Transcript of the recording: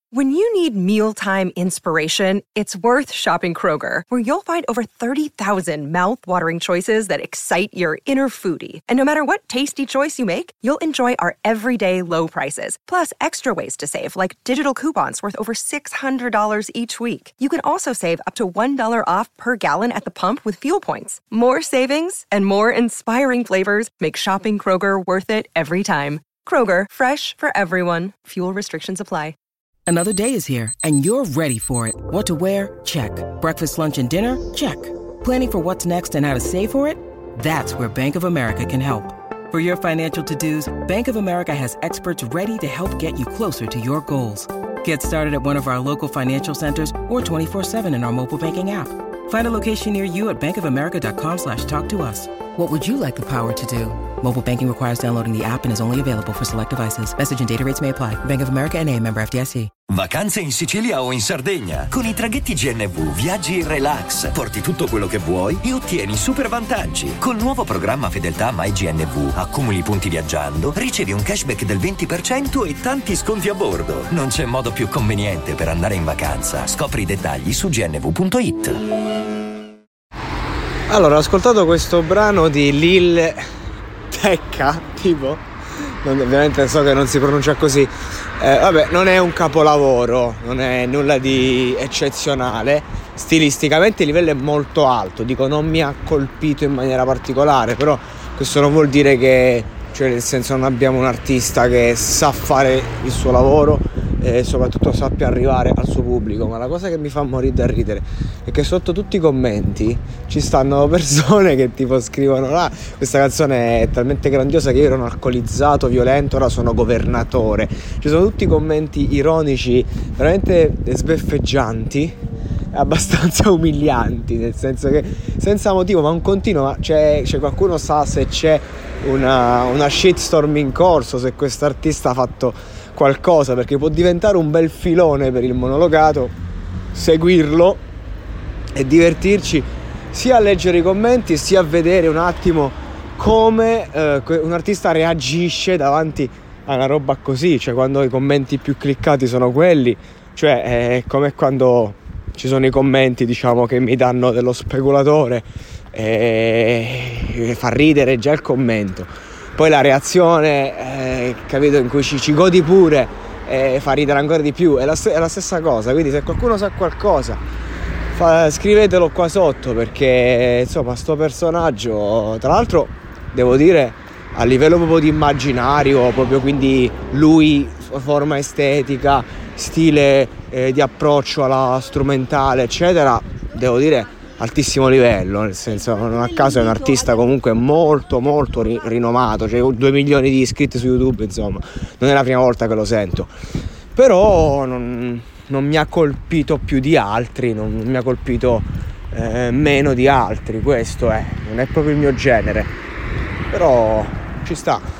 When you need mealtime inspiration, it's worth shopping Kroger, where you'll find over 30,000 mouth-watering choices that excite your inner foodie. And no matter what tasty choice you make, you'll enjoy our everyday low prices, plus extra ways to save, like digital coupons worth over $600 each week. You can also save up to $1 off per gallon at the pump with fuel points. More savings and more inspiring flavors make shopping Kroger worth it every time. Kroger, fresh for everyone. Fuel restrictions apply. Another day is here, and you're ready for it. What to wear? Check. Breakfast, lunch, and dinner? Check. Planning for what's next and how to save for it? That's where Bank of America can help. For your financial to-dos, Bank of America has experts ready to help get you closer to your goals. Get started at one of our local financial centers or 24/7 in our mobile banking app. Find a location near you at bankofamerica.com/talktous. What would you like the power to do? Mobile banking requires downloading the app and is only available for select devices. Message and data rates may apply. Bank of America N.A., member FDIC. Vacanze in Sicilia o in Sardegna. Con i traghetti GNV viaggi in relax, porti tutto quello che vuoi e ottieni super vantaggi. Col nuovo programma Fedeltà MyGNV accumuli punti viaggiando, ricevi un cashback del 20% e tanti sconti a bordo. Non c'è modo più conveniente per andare in vacanza. Scopri i dettagli su gnv.it. Allora, ho ascoltato questo brano di Lil Tecca, tipo, ovviamente so che non si pronuncia così, vabbè, non è un capolavoro, non è nulla di eccezionale, stilisticamente il livello è molto alto, dico non mi ha colpito in maniera particolare, però questo non vuol dire che, cioè nel senso, non abbiamo un artista che sa fare il suo lavoro e soprattutto sappia arrivare al suo pubblico. Ma la cosa che mi fa morire da ridere è che sotto tutti i commenti ci stanno persone che tipo scrivono: questa canzone è talmente grandiosa che io ero un alcolizzato violento, ora sono governatore. Ci sono tutti commenti ironici veramente sbeffeggianti, abbastanza umilianti, nel senso che senza motivo, ma un continuo, ma c'è qualcuno sa se c'è una shitstorm in corso, se questo artista ha fatto qualcosa, perché può diventare un bel filone per il monologato, seguirlo e divertirci sia a leggere i commenti sia a vedere un attimo come un artista reagisce davanti a una roba così, cioè quando i commenti più cliccati sono quelli, cioè è come quando ci sono i commenti, diciamo, che mi danno dello speculatore e fa ridere già il commento, poi la reazione, capito, in cui ci godi pure, fa ridere ancora di più, è la stessa cosa. Quindi se qualcuno sa qualcosa, scrivetelo qua sotto, perché insomma sto personaggio, tra l'altro devo dire, a livello proprio di immaginario, proprio, quindi lui, forma estetica, stile di approccio alla strumentale eccetera, devo dire altissimo livello, nel senso, non a caso è un artista comunque molto molto rinomato, cioè 2 milioni di iscritti su YouTube, insomma non è la prima volta che lo sento, però non mi ha colpito più di altri, non mi ha colpito meno di altri, questo non è proprio il mio genere, però ci sta.